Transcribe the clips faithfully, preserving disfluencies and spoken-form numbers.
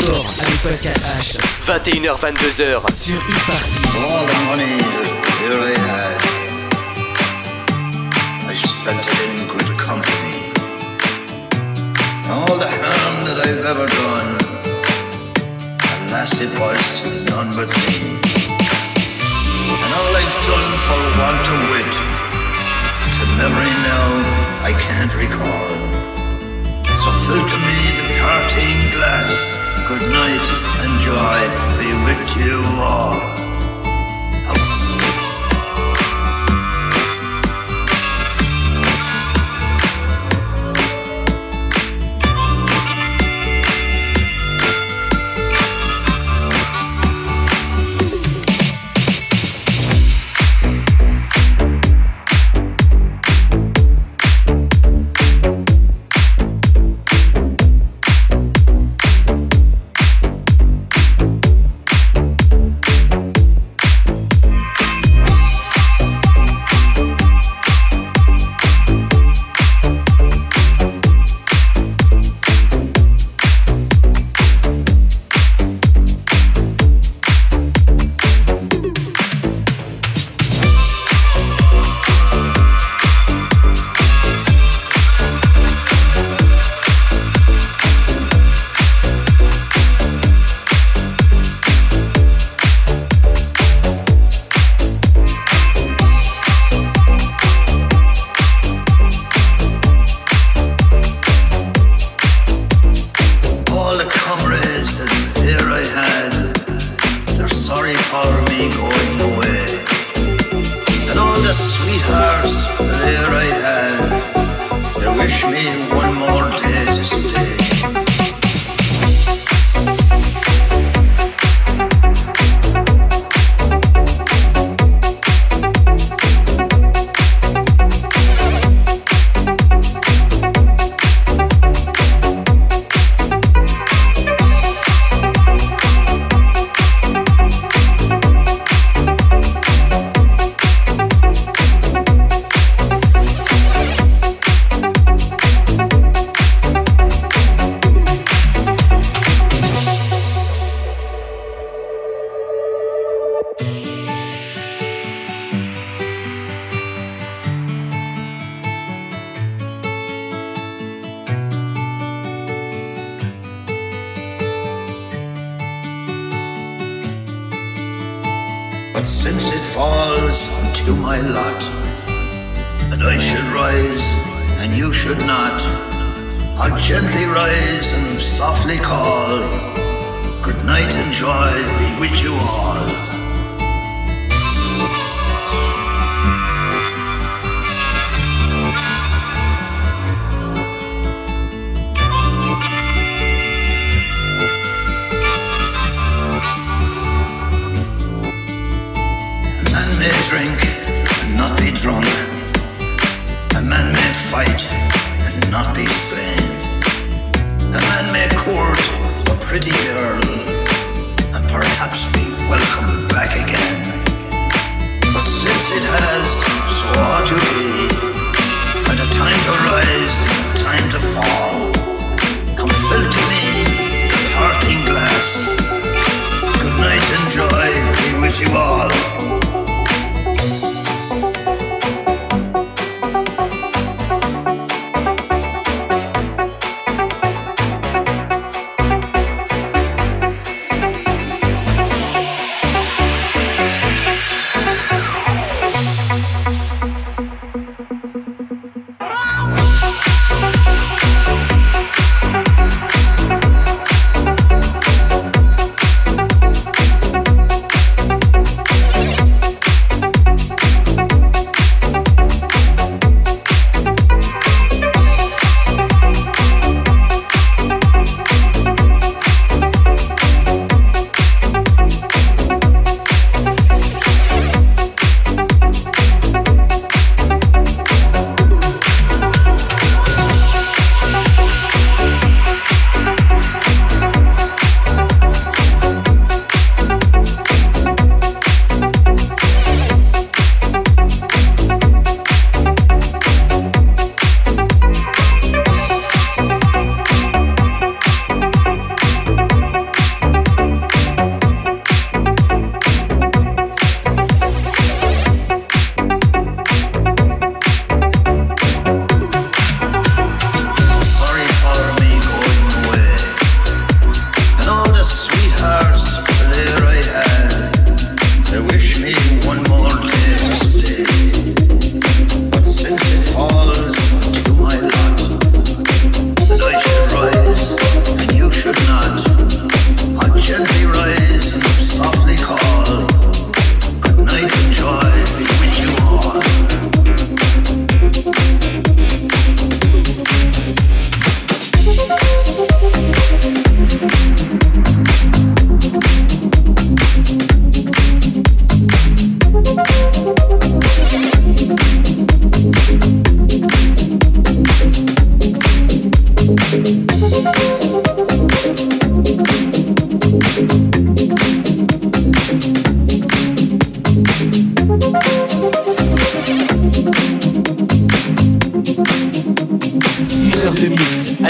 Record avec Pascal H. vingt et une heures vingt-deux heures sur Hit Party. All the money that here I had, I spent it in good company. All the harm that I've ever done, alas it was to none but me. And all I've done for want of wit, to memory now I can't recall. So fill to me the parting glass. Good night and joy be with you all. But since it falls unto my lot that I should rise and you should not, I'll gently rise and softly call, good night and joy be with you all. Drink and not be drunk. A man may fight and not be slain. A man may court a pretty girl and perhaps be welcomed back again. But since it has so ought to be, at a time to rise and a time to fall, come fill to me the parting glass. Good night and joy be with you all.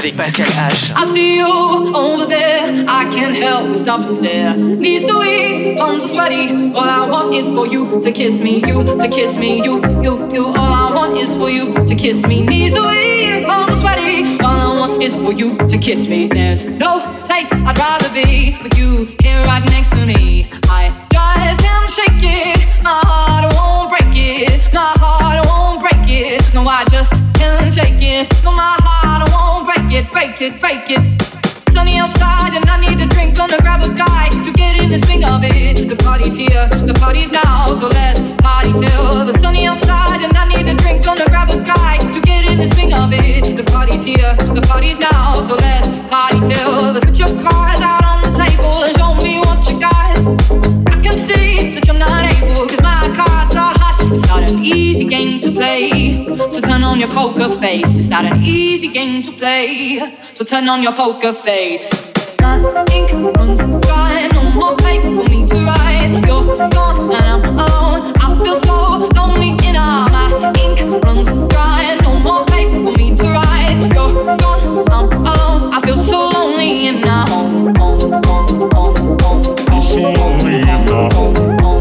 avec Pascal H. I see you over there, I can't help but stop and stare. Knees so weak, palms are sweaty. All I want is for you to kiss me, you to kiss me, you, you, you. All I want is for you to kiss me. Knees so weak, palms are sweaty. All I want is for you to kiss me. There's no place I'd rather be with you here right next to me. I just can't shake it, my heart won't break it, my heart won't break it. No, I just can't shake it. No, my heart won't break it, break it, break it. Sunny outside and I need a drink. Gonna grab a guy to get in the swing of it. The party's here, the party's now, so let's party till the sunny outside and I need a drink. Gonna grab a guy to get in the swing of it. The party's here, the party's now, so let's party till. Let's put your cards out on the table and show me what you got. I can see that you're not able, cause my cards are hot. It's not an easy game to play, so turn on your poker face. It's not an easy game to play, so turn on your poker face. My ink runs dry, no more paper for me to write. You're gone and I'm alone, I feel so lonely in all. My ink runs dry, no more paper for me to write. You're gone, I'm alone, I feel so lonely in my home, home, home, home, home. I'm so lonely in my home.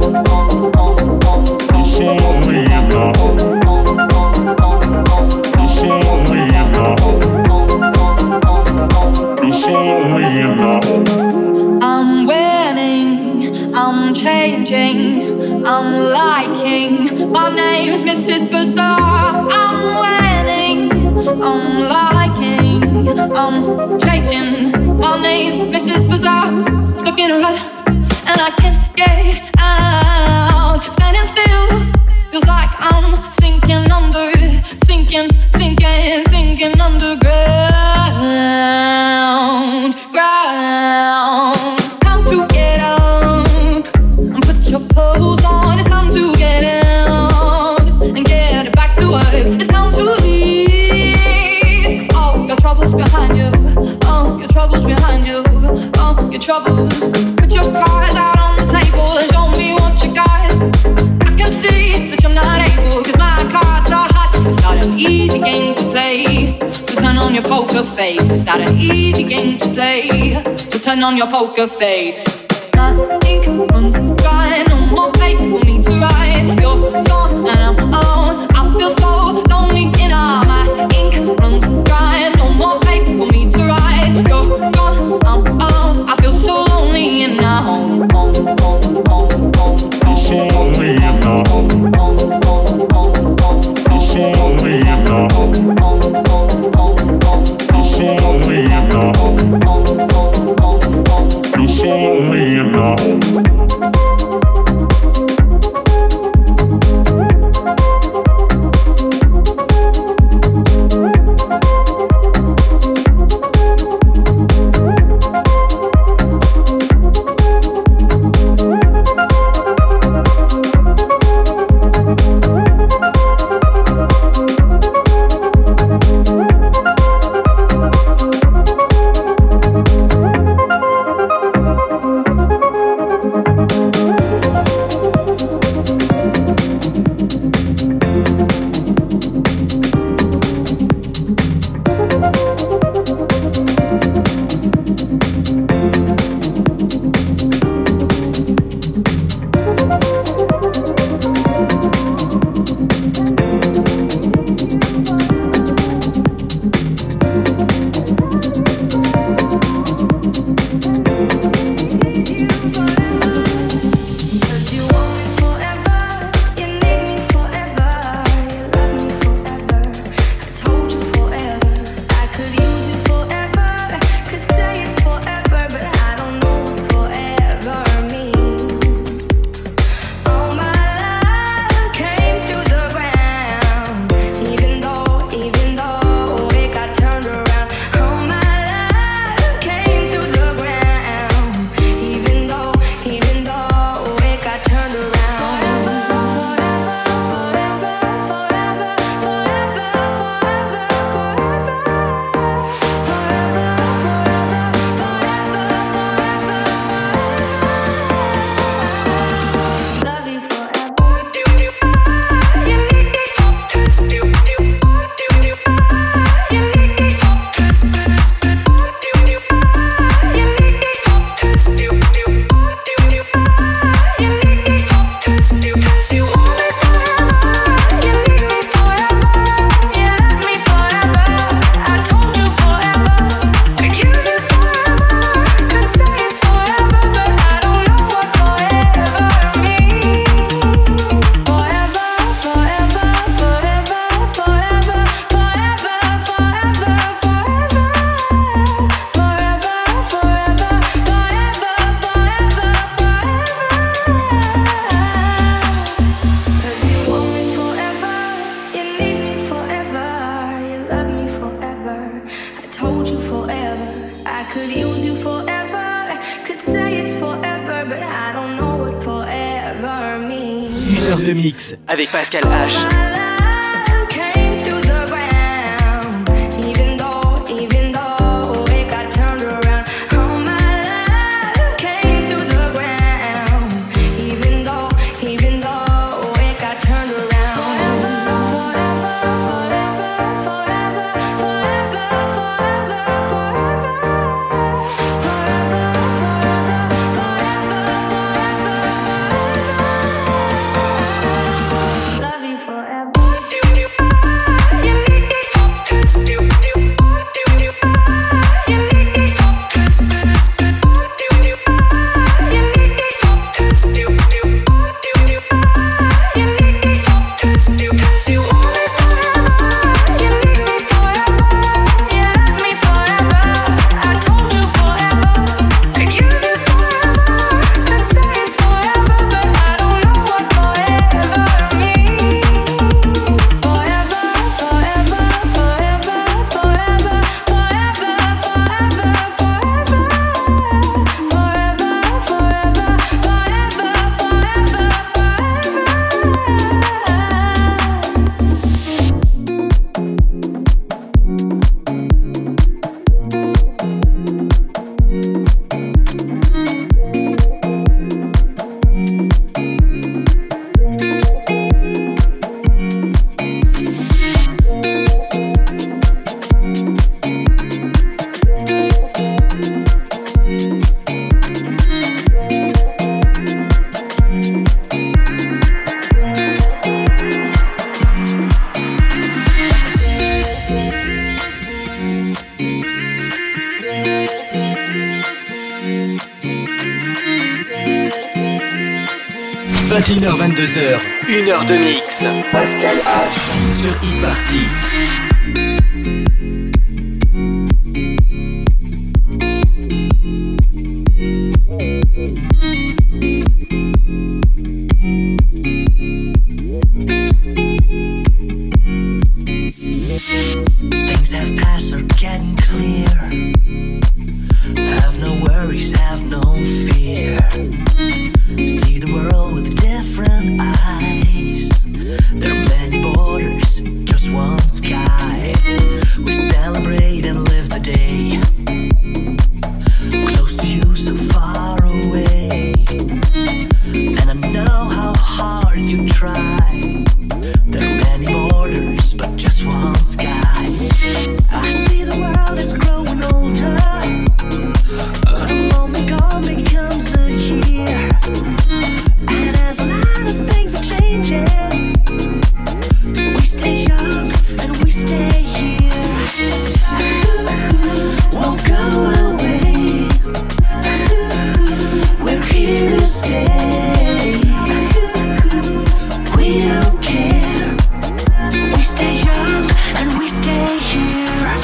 I'm so lonely in my home. I'm so lonely in my home. I'm so lonely in my home. I'm winning, I'm changing, I'm liking. My name's Missus Bizarre. I'm winning, I'm liking, I'm changing. My name's Missus Bizarre. Stuck in a rut and I can't get out. Standing still feels like I'm sinking under, sinking, sinking, sinking underground. Ground. Time to get up and put your clothes on. It's time to get out and get back to work. It's time to leave all your troubles behind you. Oh, your troubles behind you. Oh, your troubles. Put your cards out on the table and show me what you got. I can see that you're not able, cause my cards are hot. It's not an easy game to play, so turn on your poker face. It's not an easy game to play, so turn on your poker face. My ink runs dry, no more paper for me to write. You're gone and I'm alone, I feel so lonely in all. My ink runs dry, no more paper for me to write. You're gone, I'm alone, I feel so lonely in my home, home, home, home, home. I'm so lonely in my home. I'm so lonely in my home. I'm so lonely in my home. I'm so lonely in my home. heure de mix avec Pascal H. vingt et une heures vingt-deux heures, une heure de mix. Pascal H sur Hit Party. Things have passed are getting clear. Have no worries, have no fear. See the world with different eyes. There are many borders, just one sky. We celebrate and live the day. Close to you, so far away. And I know how hard you try. There are many borders, but just one sky. I see the world is growing older. A moment gone becomes a year. And as a lot of things are changing, we stay young and we stay here. Won't go away. We're here to stay. We don't care. We stay young and we stay here.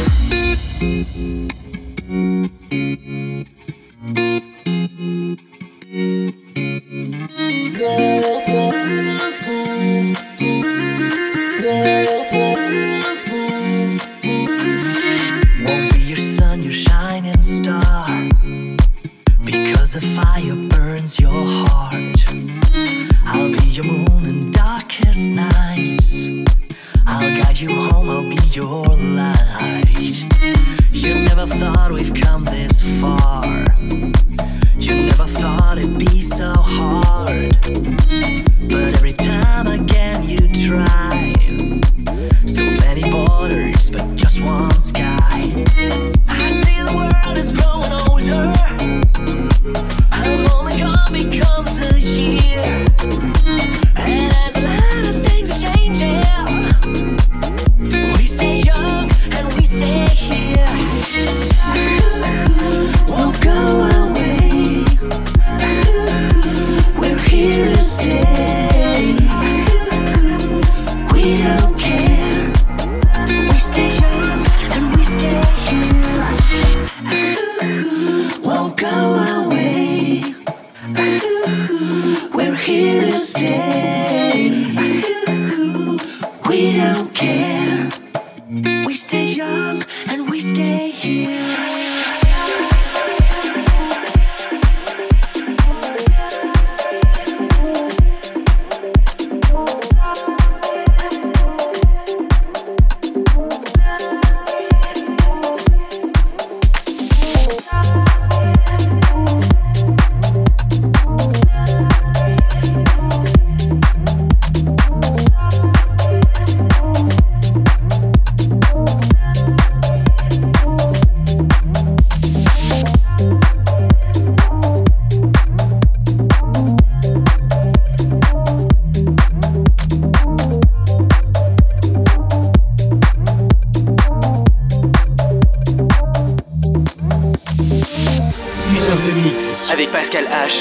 Won't be your sun, your shining star, because the fire burns your heart. I'll be your moon in darkest nights. I'll guide you home, I'll be your light. You never thought we've come this far. You never thought it'd be so hard. But every time again you try. So many borders, but just one sky. I see the world is growing older. A moment gone becomes a year. And as a lot of things are changing, we stay young and we stay here. Won't go away. We're here to stay. We don't care. We stay young and we stay here. Won't go away. We're here to stay. We don't care. We stay young and we stay here. avec Pascal H.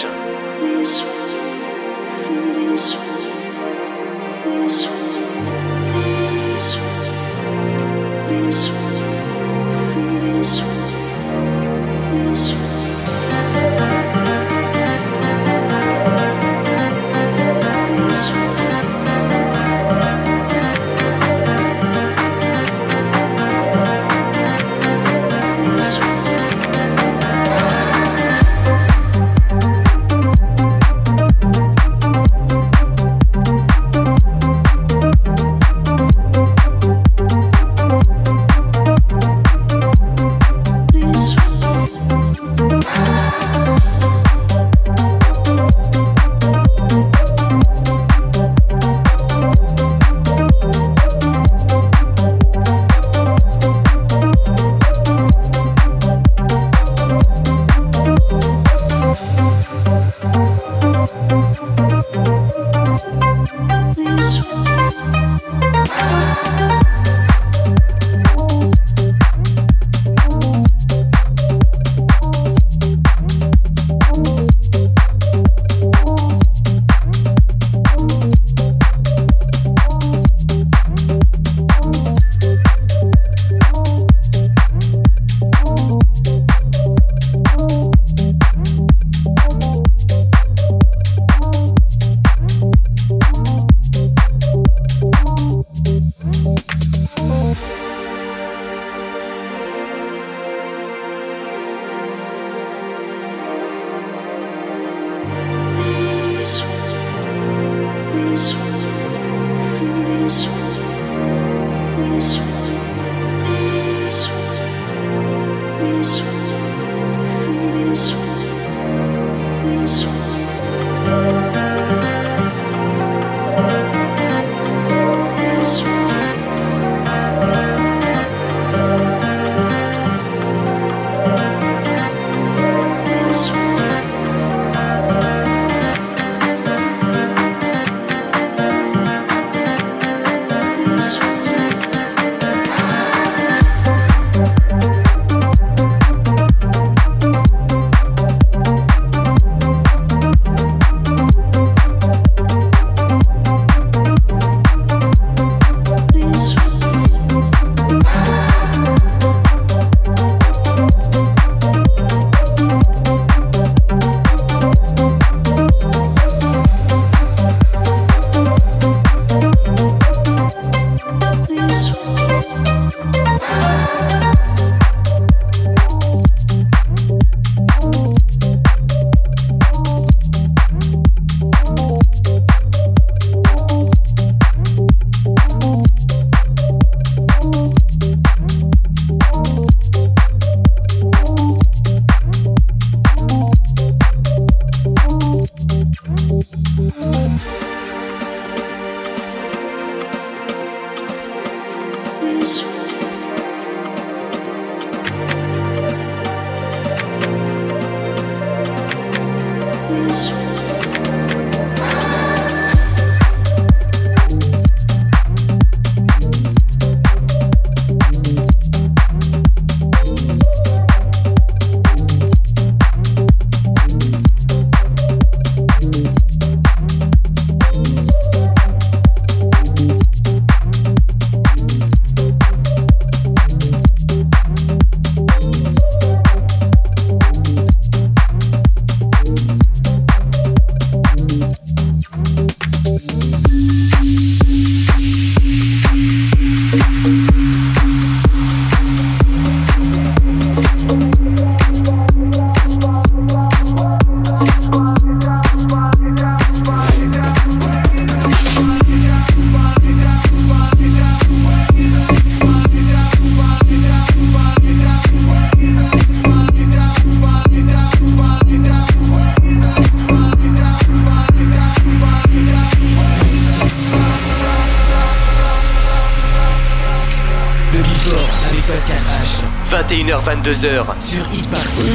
vingt et une heures vingt-deux heures sur Hit Party.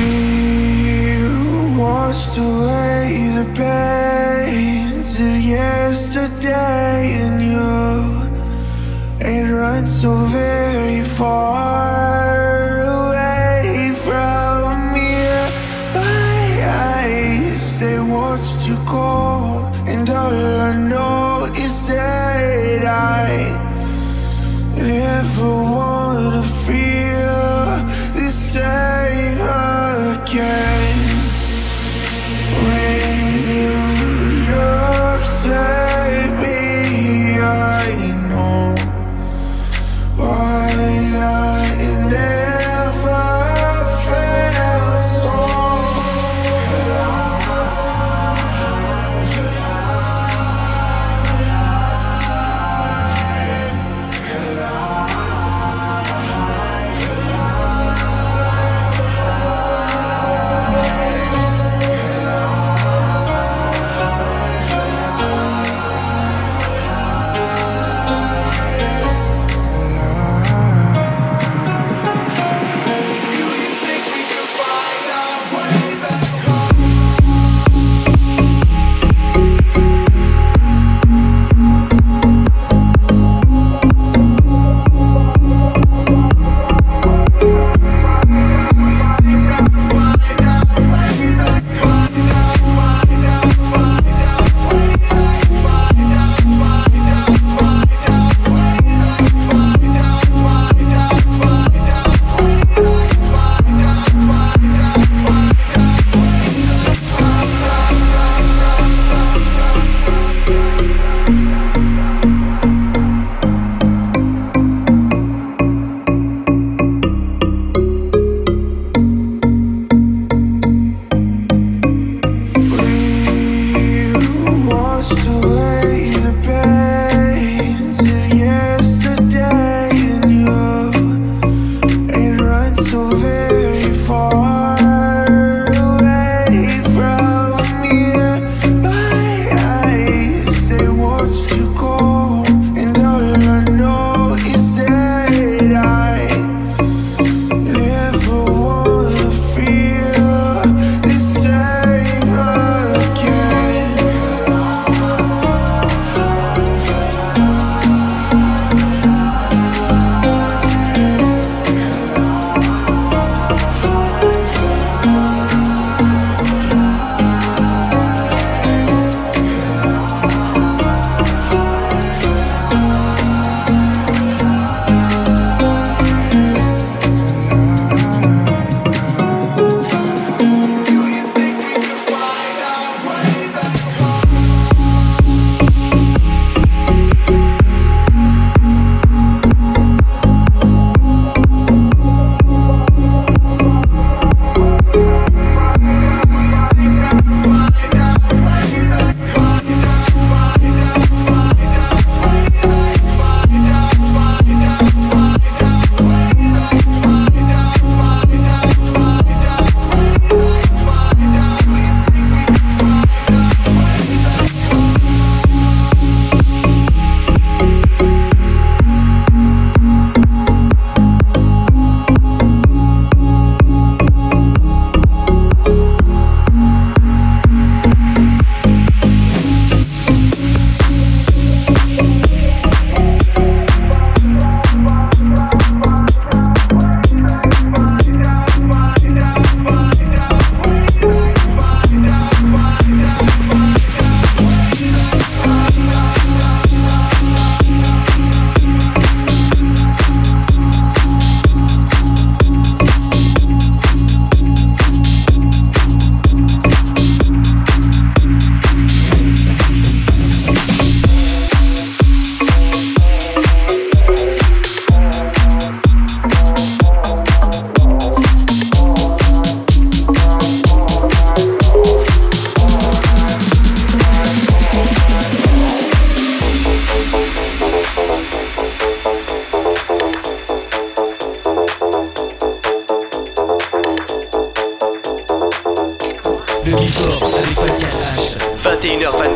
We washed away the pain to yesterday, and you ain't run so very far away from here. I, I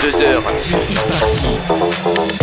vingt-deux heures sur Hit Party.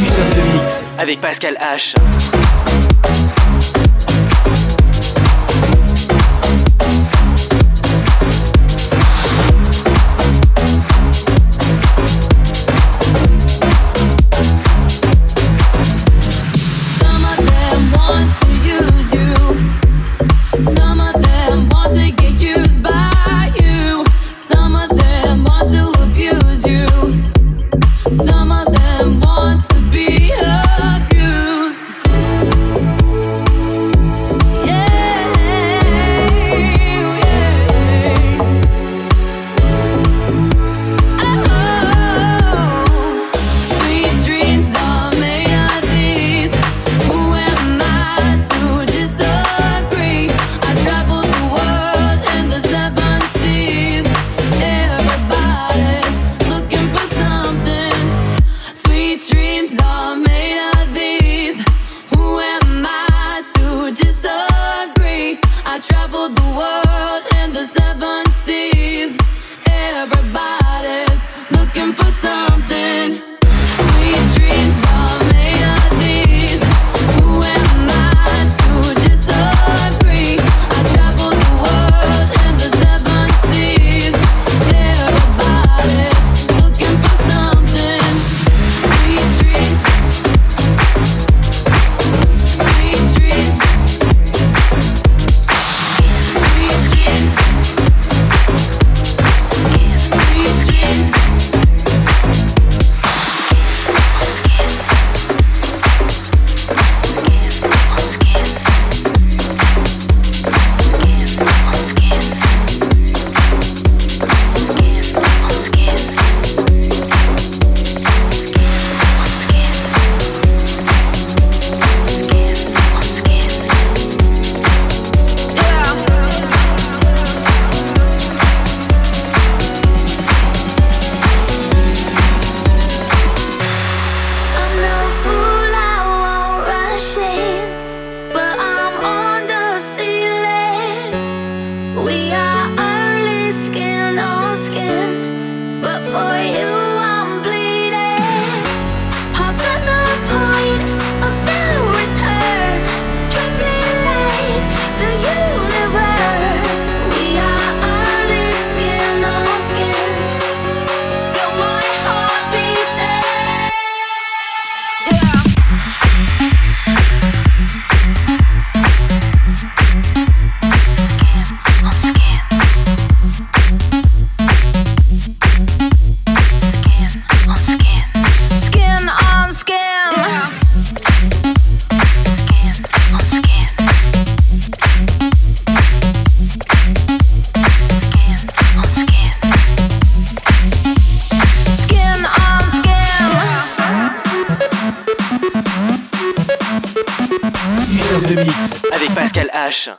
avec Pascal H. the world and the seven seas. Everybody's looking for something. Sweet dreams are made of these. Who am I to disagree? I travel the world and the seven seas. Everybody's looking for something. Sweet dreams. Sweet dreams. Sweet dreams. Sweet dreams. H.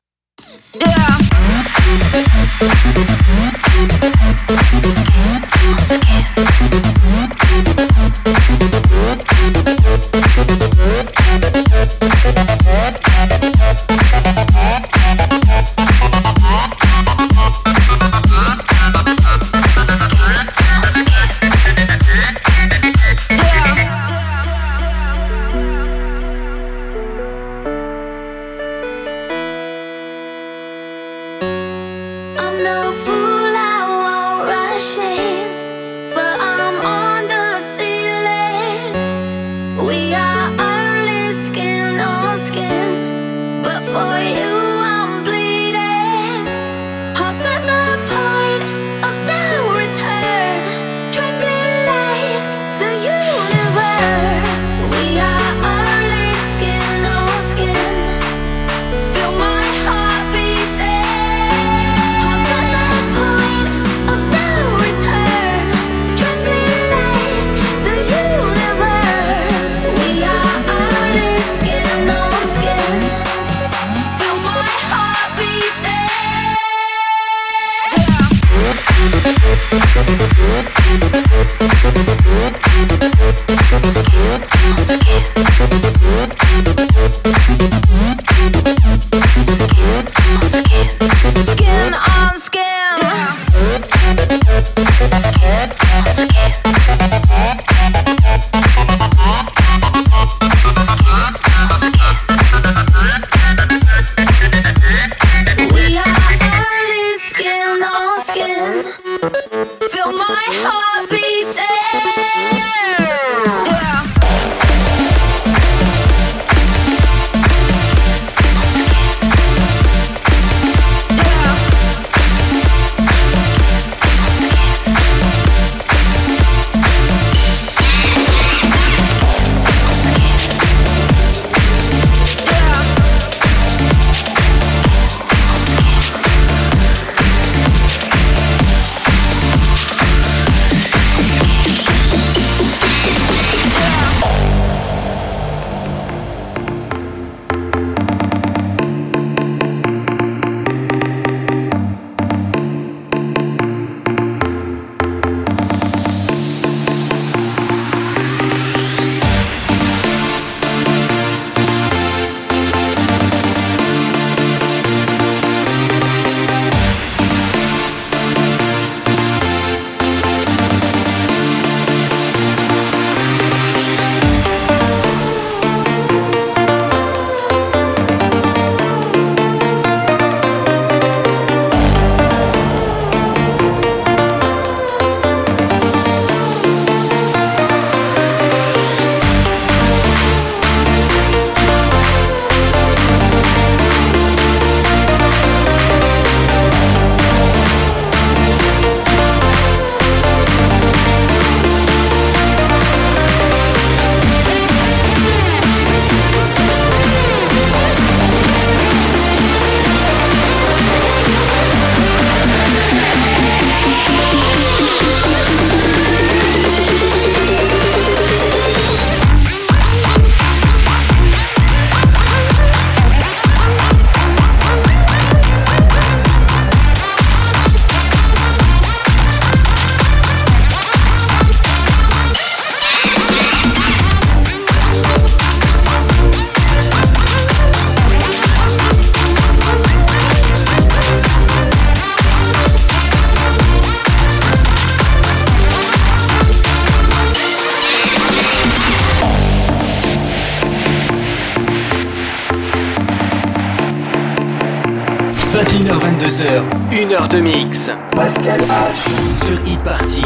vingt et une heures vingt-deux heures, une heure de mix. Pascal H sur Hit Party.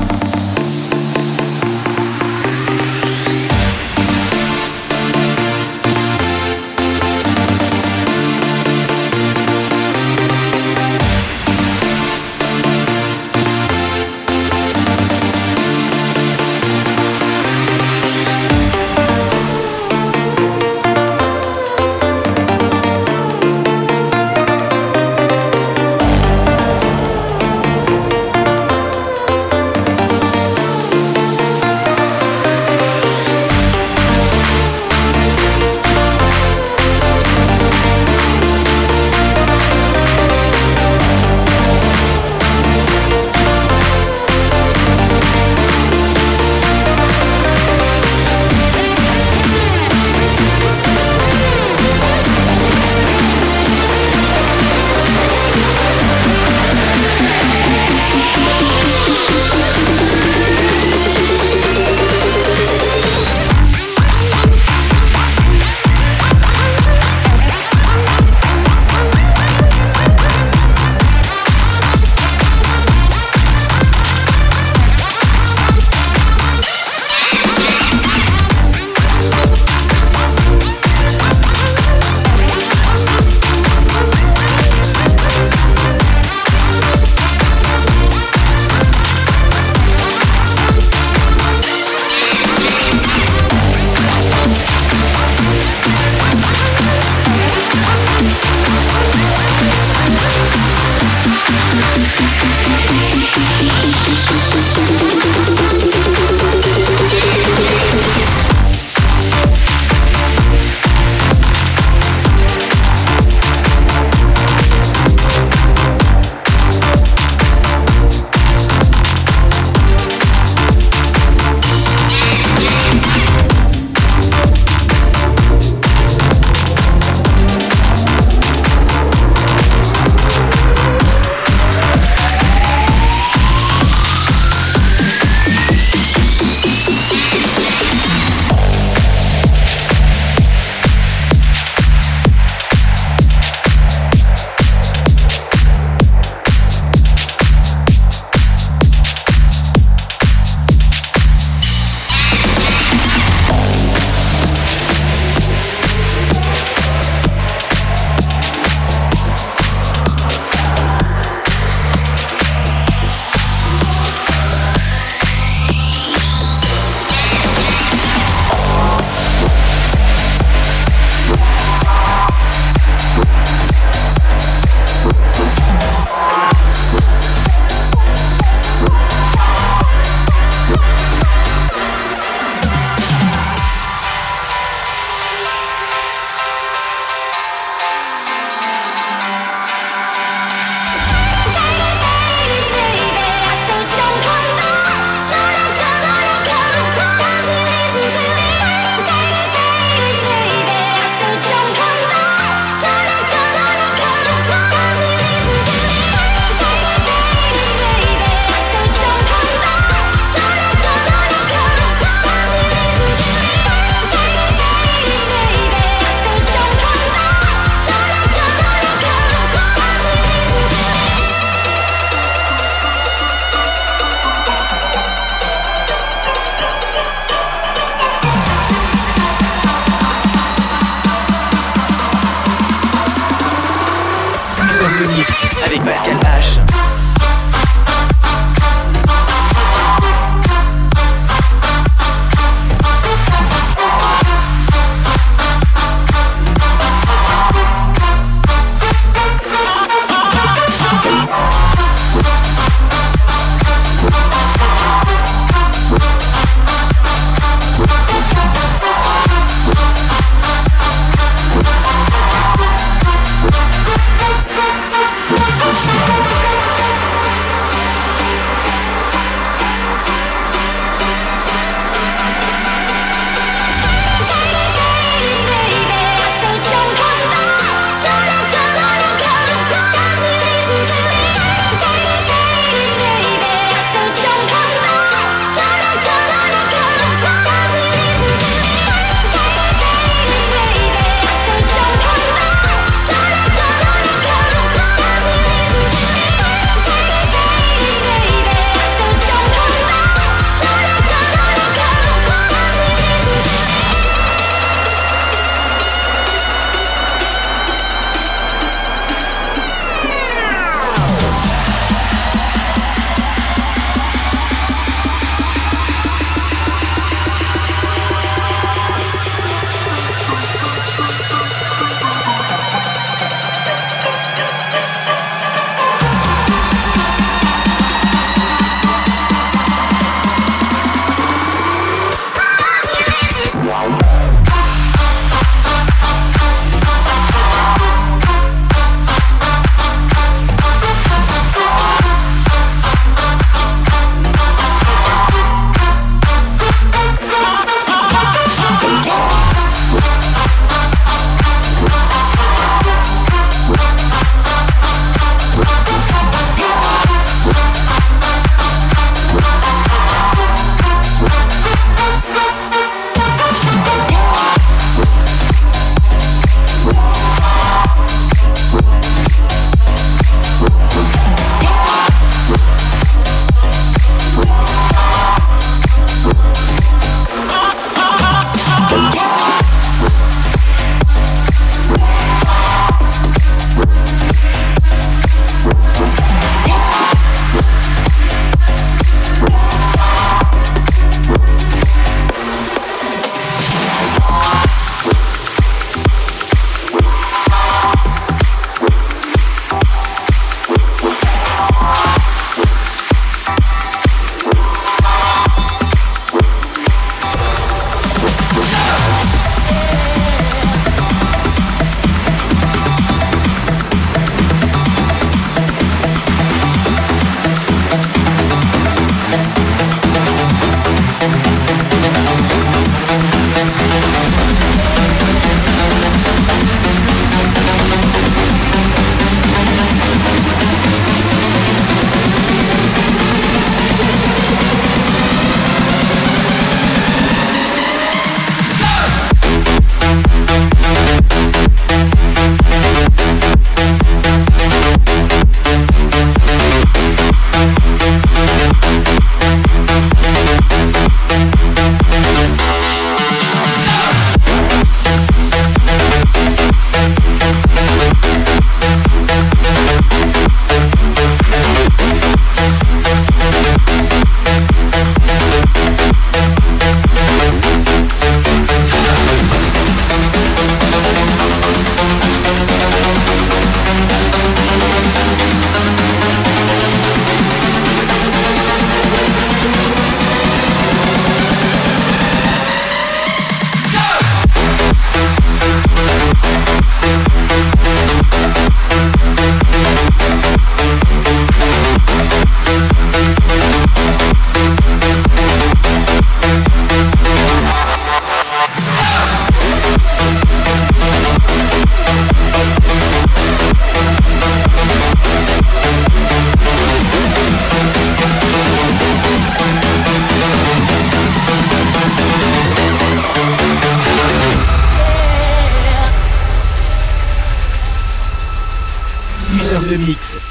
Avec Pascal H.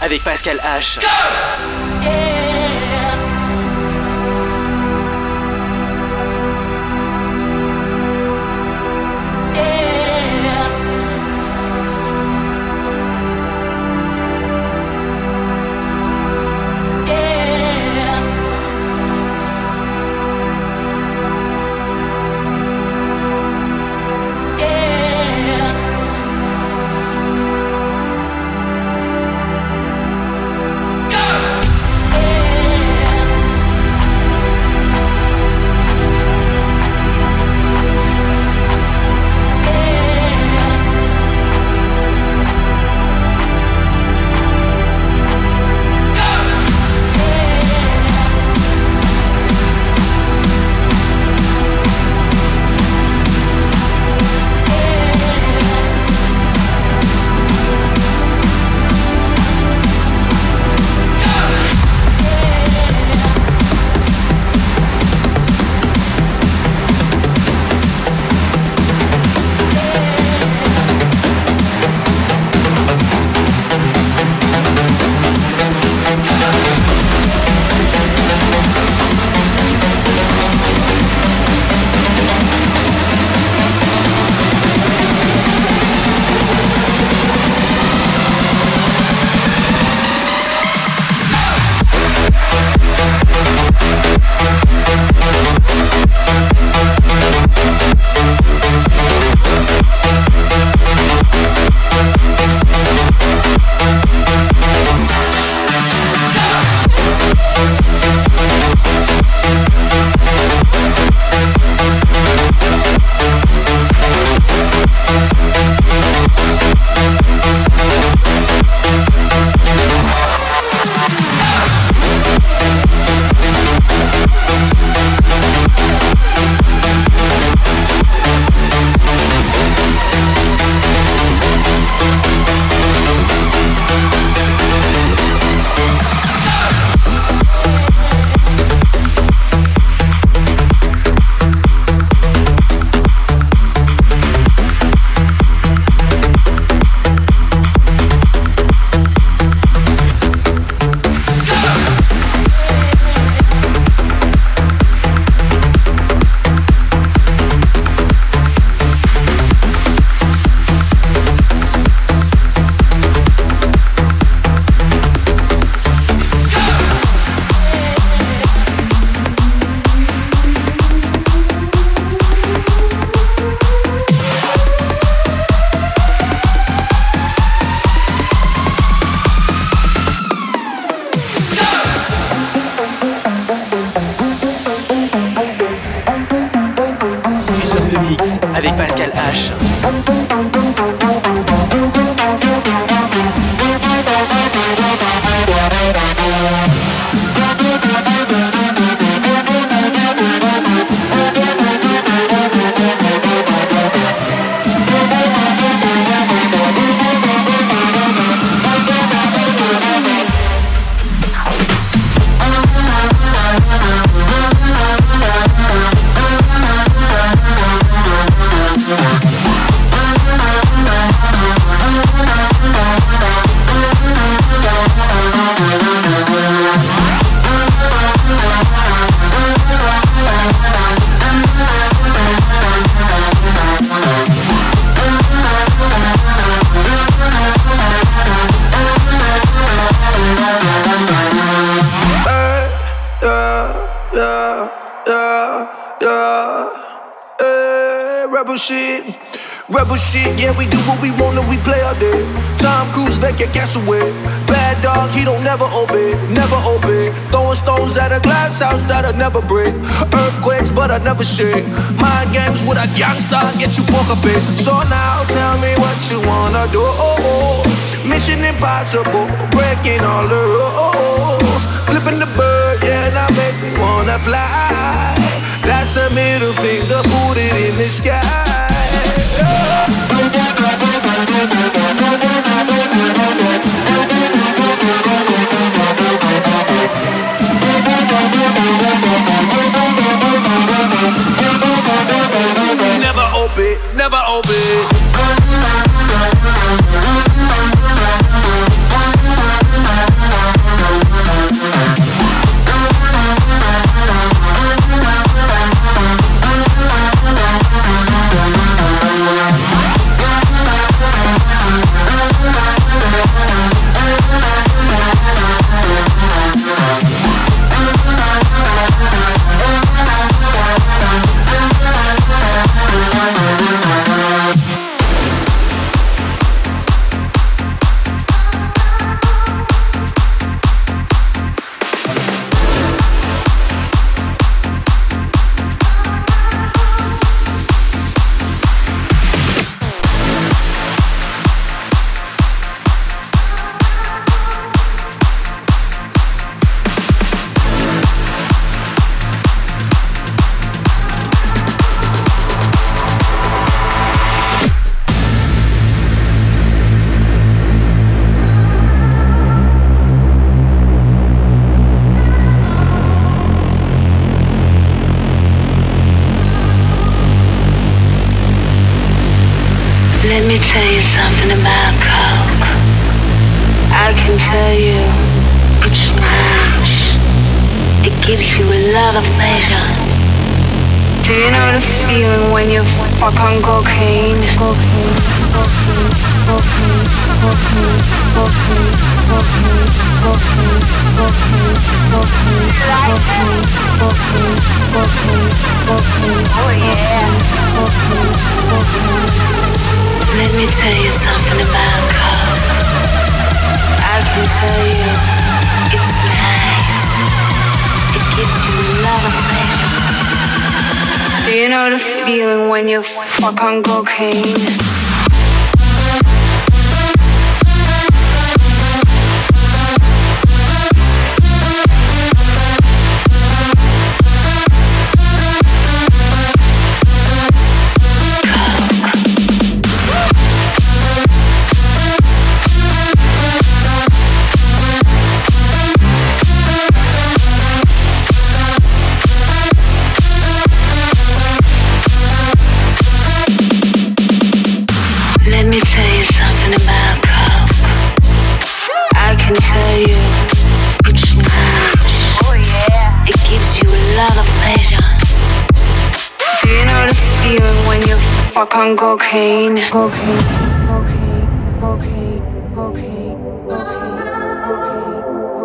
avec Pascal H. Avec Pascal H. Rebel shit, yeah, we do what we want and we play all day. Tom Cruise, like your castaway. Bad dog, he don't never obey, never obey. Throwing stones at a glass house that'll never break. Earthquakes, but I never shake. Mind games with a gangster, get you poker face. So now tell me what you wanna do. Mission impossible, breaking all the rules. Flipping the bird, yeah, now make me wanna fly. That's a middle finger, put it in the sky. Never obey, never obey. me tell you something about coke. I can tell you it's nice. It gives you a lot of pleasure. Do you know the feeling when you fuck on cocaine? Cocaine, cocaine, cocaine, cocaine, cocaine, cocaine, cocaine, cocaine, cocaine, cocaine, cocaine, cocaine, cocaine. Oh yeah. Cocaine, cocaine. Let me tell you something about coke. I can tell you it's nice. It gives you a lot of pleasure. Do you know the feeling when you fuck on cocaine? Let me tell you something about coke. I can tell you it's nice. Oh yeah. It gives you a lot of pleasure. Do you know the feeling when you fuck on cocaine? Cocaine, cocaine, cocaine, cocaine, cocaine, cocaine,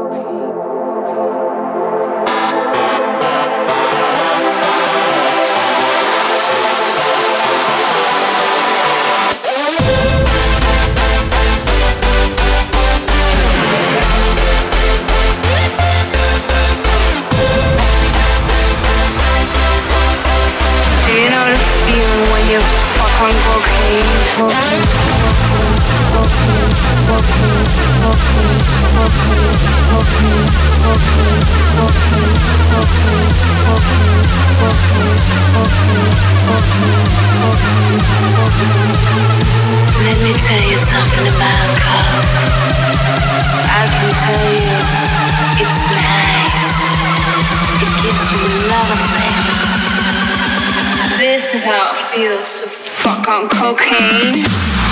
you fuck on cocaine. Cocaine, cocaine, cocaine, cocaine, cocaine, cocaine, cocaine, cocaine, cocaine, cocaine, cocaine, cocaine, cocaine, cocaine, cocaine. Let me tell you something about coke. I can tell you it's nice. It gives you a lot of pleasure. This is how it feels to fuck on cocaine.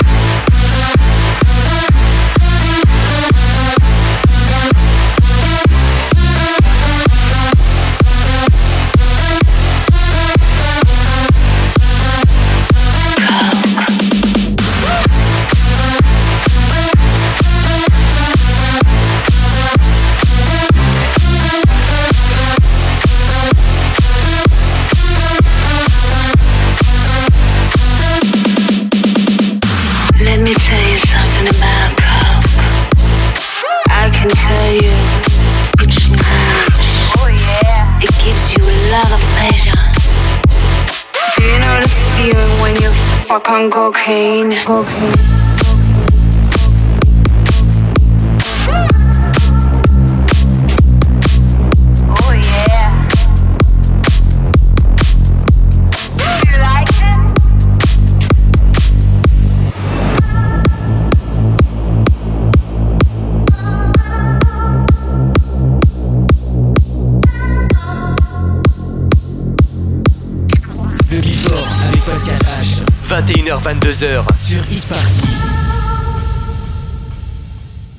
Let me tell you something about coke. I can tell you it's nice. Oh yeah. It gives you a lot of pleasure. Do you know the feeling when you fuck on cocaine? Cocaine. vingt et une heures vingt-deux heures Sur Hit Party.